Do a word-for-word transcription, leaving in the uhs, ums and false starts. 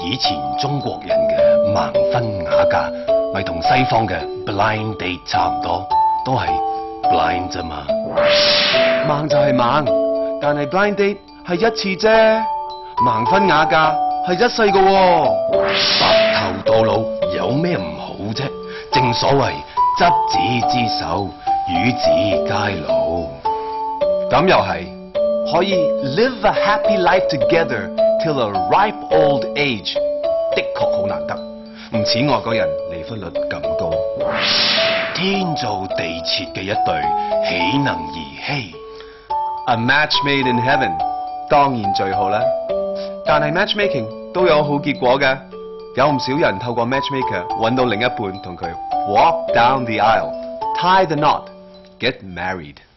以前中國人嘅盲婚啞嫁，咪同西方嘅 blind date 差唔多，都係 blind 啫嘛。 盲就係盲，但係 blind date 係一次啫，盲婚啞嫁係一世噶喎。 白頭到老有咩唔好啫？正所謂執子之手，與子偕老。 咁又係，可以 live a happy life together till a ripe old age， 的確好難得，唔似外國人離婚率咁高。 天造地設嘅一對，豈能兒戲 A match made in heaven 當然最好啦，但係 matchmaking 都有好結果嘅，有唔少人透過 matchmaker 揾到另一半同佢 walk down the aisle，tie the knot，get married。